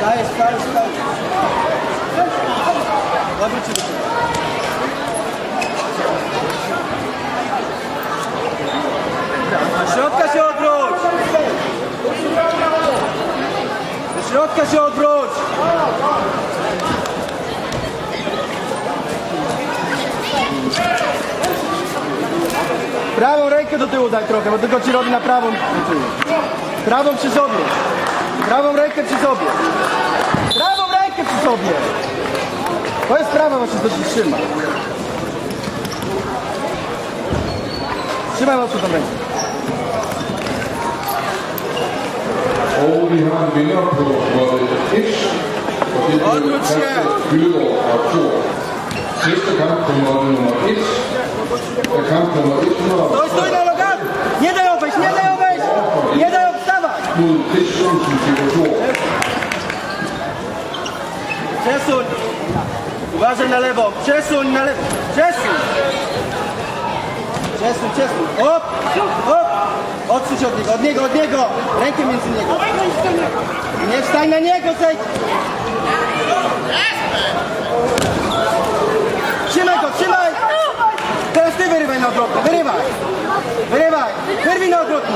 Do środka się odwróć! Do środka się odwróć! Prawą rękę do tyłu daj trochę, bo tylko ci robi na prawą do tyłu. Prawą przy sobie. Prawą rękę przy sobie. Prawą rękę przy sobie. To jest prawa właśnie, to ci trzyma. Trzymaj mocno tą rękę. Og vi har en vinder på måtte 1, og det er Kasper Gyldgaard og Thor. Næste kamp på måtte nummer 1 er kamp nummer 100. Stój na nogach! Nie daj obejść, nie daj obejść! Nie daj obstawać! Mod Christiansen til Thor. Przesuń! Uważaj na lewo! Przesuń na lewo! Przesuń! Przesuń, przesuń! Hop! Hop! Odsuń się od niego, od niego! Rękę między niego! Nie wstań na niego, zejdź! Trzymaj go, trzymaj! Teraz ty wyrywaj na odwrotny, wyrywaj! Wyrywaj! Wyrwij na odwrotny!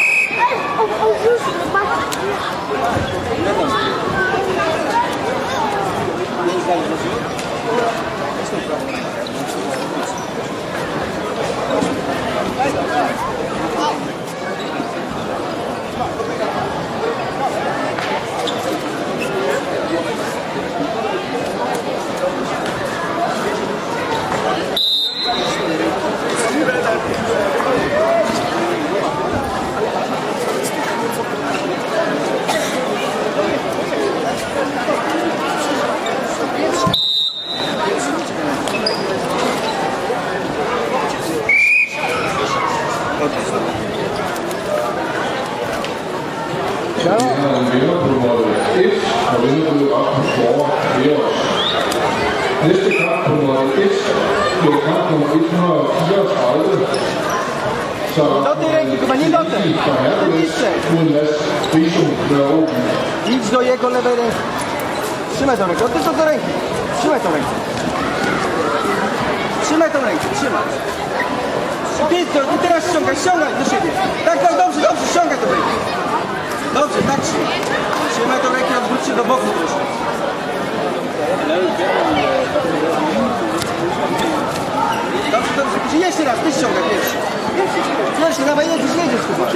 Vi har en vinder på måtte 1, og vinder blevet op på Thor Eros. Næste kamp på måtte 1 bliver kamp nummer 134. Så Do tej ręki, chyba nie do tej. fra Hercules mod Mads Friso Nørreby. Idź do jego lewej ręki. Trzymaj tą rękę, oddysz do ręki. Trzymaj tą rękę. Trzymaj tą rękę, trzymaj. Ty teraz ściągaj, ściągaj do siebie. Tak, tak, dobrze, dobrze, ściągaj tą rękę. Dobrze, tak trzymaj. Trzymaj tą rękę, odwróć się do boku troszkę. Dobrze, dobrze. Jeszcze raz, ty ściągaj pierwszy. Jeszcze, dawaj, jedziesz chyba.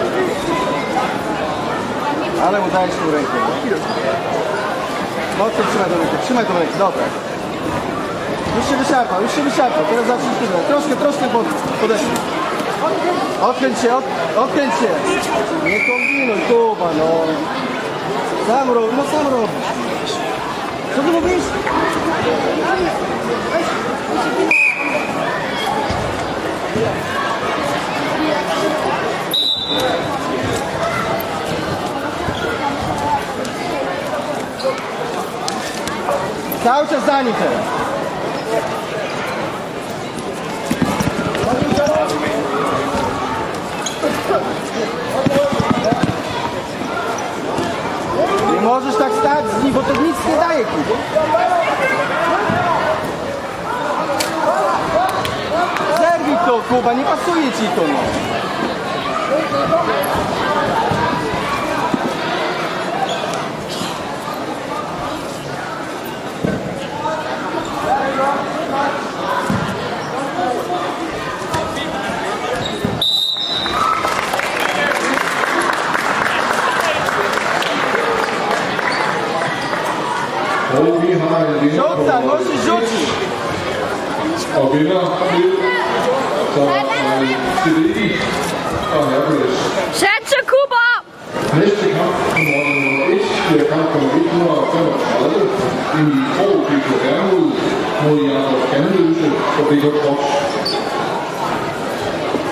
Ale mu dajesz tą rękę. Mocno trzymaj tą rękę, dobra. Już się wyszarpał, teraz zacznij tyle. Troszkę podeszli. Odkręć się. Nie kombinuj, Kuba, no. Sam robisz. Co ty mówisz? Cały czas za nim teraz. Nie możesz tak stać z nim, bo to nic nie daje, Kuba. Zerwij to, Kuba, nie pasuje ci to, no. Og vi har en vinder på måtte 1. Og vinder blev så Cedric og Hercules. Satse, Kuba! Næste kamp på måtte nummer 1 bliver kamp nummer 135. Emil Krog, BK Hermod mod Jakob Ganløse og BK Cross.